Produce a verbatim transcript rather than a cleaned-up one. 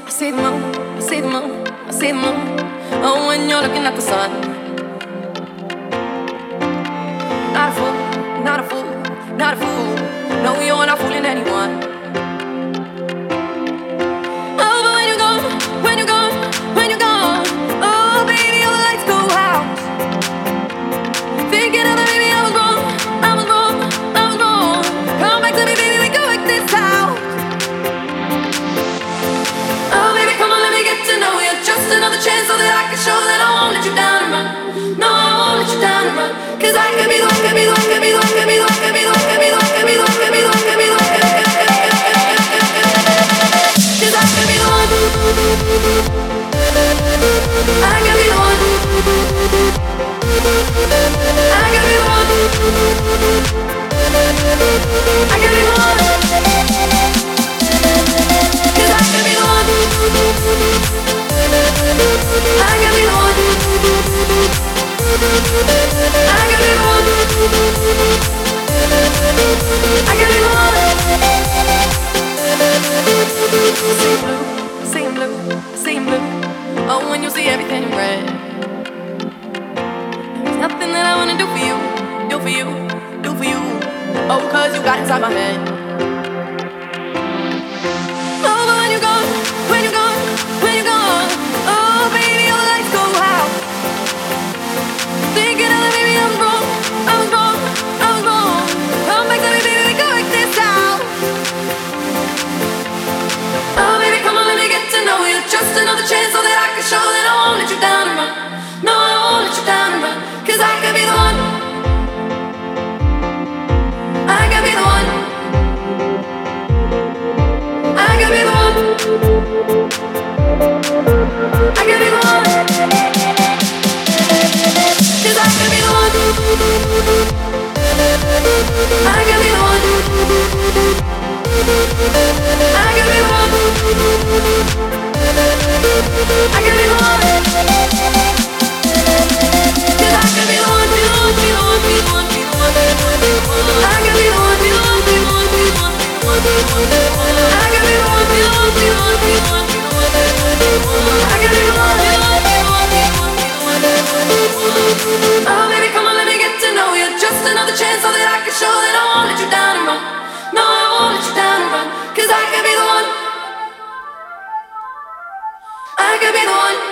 see the moon, I see the moon, I see the moon. Oh, when you're looking at the sun. Not a fool, not a fool, not a fool. No, you're not fooling anyone. Oh, but when you're gone, when you're gone, when you're gone, oh, baby, all the lights go out. Thinking of it, baby, I was wrong, I was wrong, I was wrong. Come back to me, baby, we can work this out. Oh, baby, come on, let me get to know you. Just another chance so that I can show that I won't let you down and run. No, I won't let you down and run. Cause I could be the one, could be the one, could be the one, could be the one, could be the one, could be the one, could be the one, could be the one, could be the one, could be the one. Cause I could be the one. I could be the one. I could be the one. I could be the one. Cause I could be the one. I could be the one. I could be the one. I could be the one. Seeing blue, seeing blue, seeing blue. Oh, when you see everything in red. There's nothing that I wanna do for you, do for you, do for you. Oh, cause you got inside my head. Oh, but when you're gone, when you're gone, when you're gone, oh, baby, all the lights go out. Thinking of it, baby, I was wrong, I was wrong, I was wrong. Come back to me, baby, we can work this out. Oh, baby, come on, let me get to know you. Just another chance so that I can show that I won't let you down and run. No, I won't let you down and run. Cause I could be the one. I could be the one. I could be the one. I could be the one. Cause I could be the one. I could be the one. I could be the one. I could be the one. Cause I could be the one, be the one, be the one, be the one, be the one, be the one, be the one. I could be the one, be the one, be the one, be the one, be the one, be the one, be the one. I could be the one, be the one, be the one, be the one, be the one, be the one, be the one. I could be the one, be the one, be the one, be the one, be the one, be the one, be the one. Oh, baby, come on, let me get to know you. Just another chance so that I can show that I won't let you down and run. No, I won't let you down and run. Cause I could be the one. I could be the one.